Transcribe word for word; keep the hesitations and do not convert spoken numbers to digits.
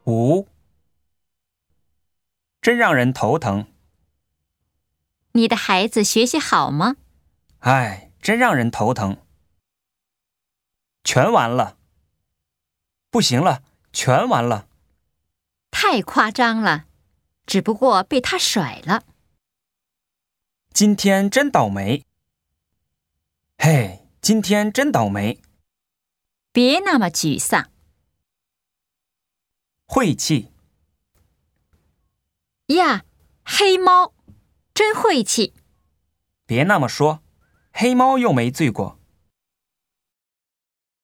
五，真让人头疼。 你的孩子学习好吗？ 唉，真让人头疼。全完了。不行了，全完了。 太夸张了，只不过被他甩了。 今天真倒霉。嘿，今天真倒霉。 别那么沮丧。 晦气。 呀，黑猫，真晦气。 别那么说，黑猫又没罪过。